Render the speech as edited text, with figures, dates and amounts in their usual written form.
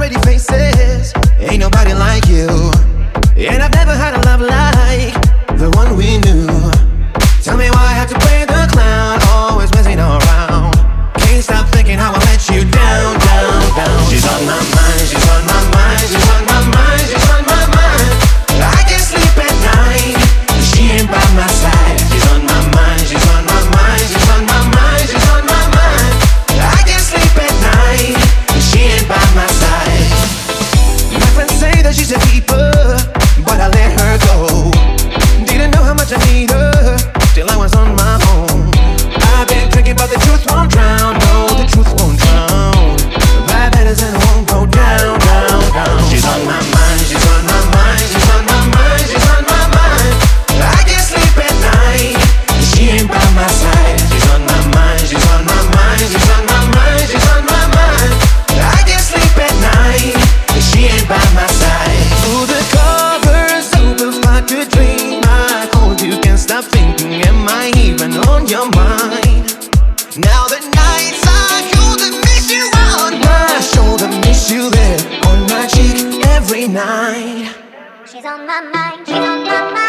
pretty faces. Ain't nobody like you, and I've never had a love like the one we knew. Tell me why I have to play the clown, always messing around. Can't stop thinking how I let you down, down, down. She's on my mind, she's on my mind, she's on my mind, she's on my mind. I can't sleep at night, she ain't by my side. She's on my mind, she's on my mind, she's on my mind, she's on my mind. I can't sleep at night, she ain't by my side. My friends say that she's a keeper, but I let her go. Didn't know how much I need her, till I was on my own. I've been drinking, but the truth won't drown. No, the truth won't drown. Bad letters and it won't go down, down, down. She's on my mind, she's on my mind, she's on my mind, she's on my mind. I can't sleep at night, she ain't by my side. She's on my mind, she's on my mind, she's on my mind, she's on my mind. I can't sleep at night, she ain't by my side. Through the covers, super far to dream. I hold you, can't stop thinking. Am I even on your mind? Now the nights are cold and miss you on my shoulder, miss you there on my cheek every night. She's on my mind, she's on my mind.